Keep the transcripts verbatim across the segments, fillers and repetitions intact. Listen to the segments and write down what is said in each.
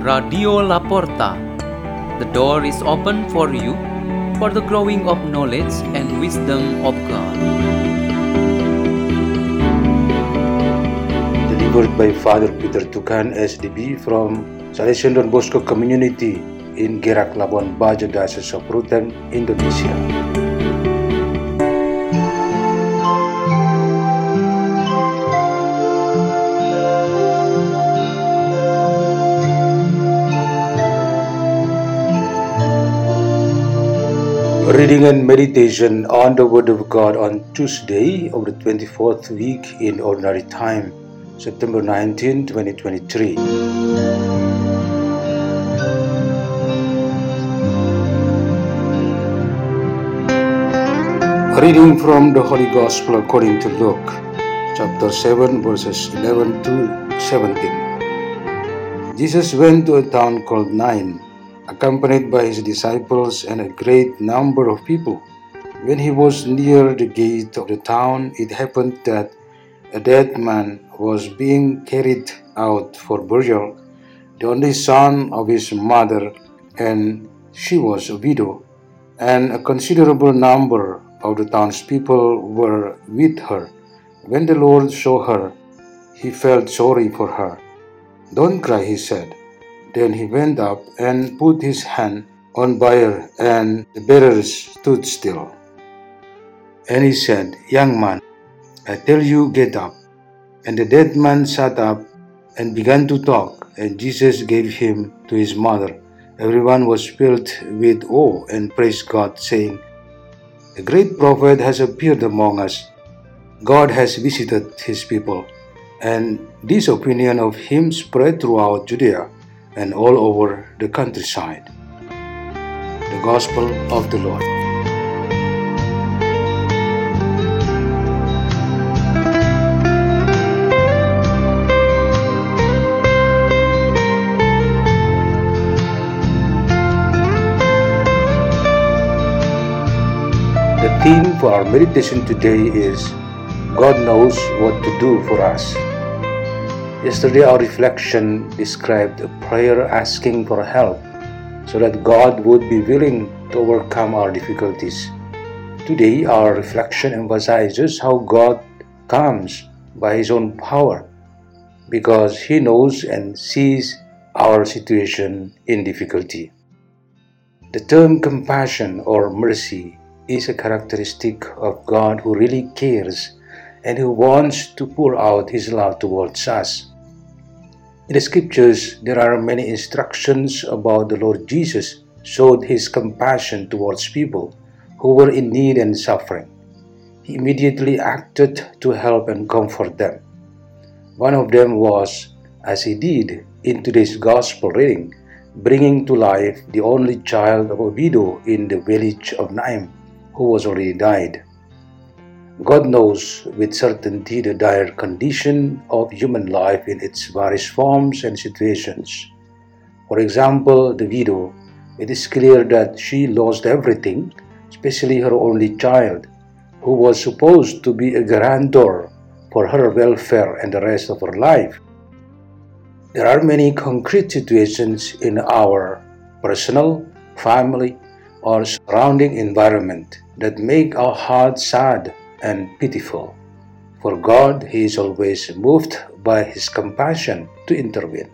Radio Laporta. The door is open for you for the growing of knowledge and wisdom of God. Delivered by Father Peter Tukan S D B from Salesian Don Bosco Community in Gerak, Labuan Bajo, Diocese of Ruteng, Indonesia. Reading and meditation on the Word of God on Tuesday of the twenty-fourth week in Ordinary Time, September nineteenth, twenty twenty-three. Reading from the Holy Gospel according to Luke, chapter seven, verses eleven to seventeen. Jesus went to a town called Nain, accompanied by his disciples and a great number of people. When he was near the gate of the town, it happened that a dead man was being carried out for burial, the only son of his mother, and she was a widow, and a considerable number of the townspeople were with her. When the Lord saw her, he felt sorry for her. "Don't cry," he said. Then he went up and put his hand on bier, and the bearers stood still. And he said, "Young man, I tell you, get up." And the dead man sat up and began to talk, and Jesus gave him to his mother. Everyone was filled with awe and praised God, saying, "A great prophet has appeared among us. God has visited his people." And this opinion of him spread throughout Judea and all over the countryside. The Gospel of the Lord. The theme for our meditation today is God knows what to do for us. Yesterday, our reflection described a prayer asking for help so that God would be willing to overcome our difficulties. Today, our reflection emphasizes how God comes by His own power because He knows and sees our situation in difficulty. The term compassion or mercy is a characteristic of God who really cares and who wants to pour out His love towards us. In the scriptures, there are many instructions about the Lord Jesus showed His compassion towards people who were in need and suffering. He immediately acted to help and comfort them. One of them was, as He did in today's Gospel reading, bringing to life the only child of a widow in the village of Naim, who was already died. God knows with certainty the dire condition of human life in its various forms and situations. For example, the widow, it is clear that she lost everything, especially her only child, who was supposed to be a guarantor for her welfare and the rest of her life. There are many concrete situations in our personal, family, or surrounding environment that make our hearts sad and pitiful. For God, He is always moved by His compassion to intervene.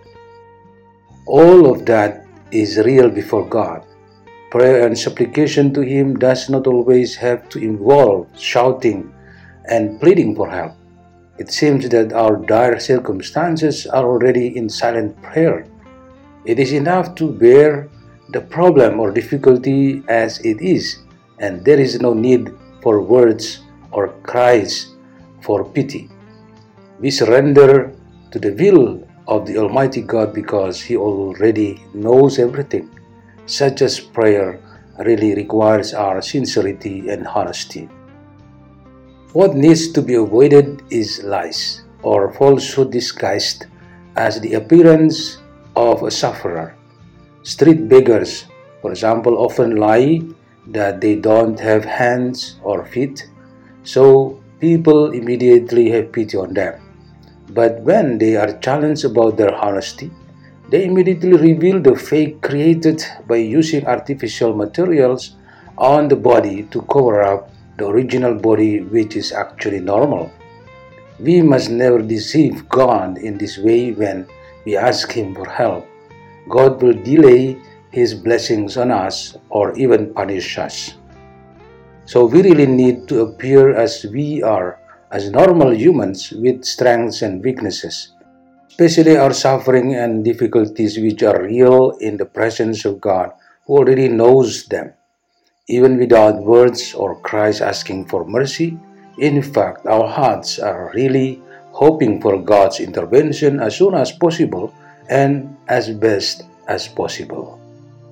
All of that is real before God. Prayer and supplication to Him does not always have to involve shouting and pleading for help. It seems that our dire circumstances are already in silent prayer. It is enough to bear the problem or difficulty as it is, and there is no need for words or cries for pity. We surrender to the will of the Almighty God because He already knows everything. Such as prayer really requires our sincerity and honesty. What needs to be avoided is lies or falsehood disguised as the appearance of a sufferer. Street beggars, for example, often lie that they don't have hands or feet, so people immediately have pity on them. But when they are challenged about their honesty, They immediately reveal the fake created by using artificial materials on the body to cover up the original body, which is actually normal. We must never deceive God in this way when we ask Him for help. God will delay His blessings on us or even punish us. So we really need to appear as we are, as normal humans with strengths and weaknesses, especially our suffering and difficulties which are real in the presence of God who already knows them. Even without words or cries asking for mercy, in fact, our hearts are really hoping for God's intervention as soon as possible and as best as possible.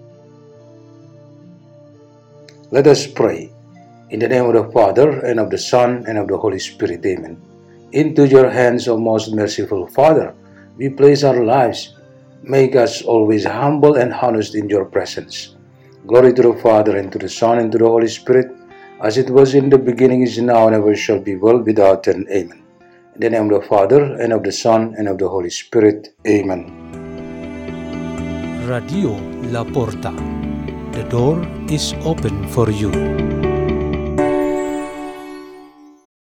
Let us pray. In the name of the Father, and of the Son, and of the Holy Spirit, amen. Into your hands, O most merciful Father, we place our lives. Make us always humble and honest in your presence. Glory to the Father, and to the Son, and to the Holy Spirit, as it was in the beginning, is now, and ever shall be, world without end. Amen. In the name of the Father, and of the Son, and of the Holy Spirit. Amen. Radio La Porta. The door is open for you.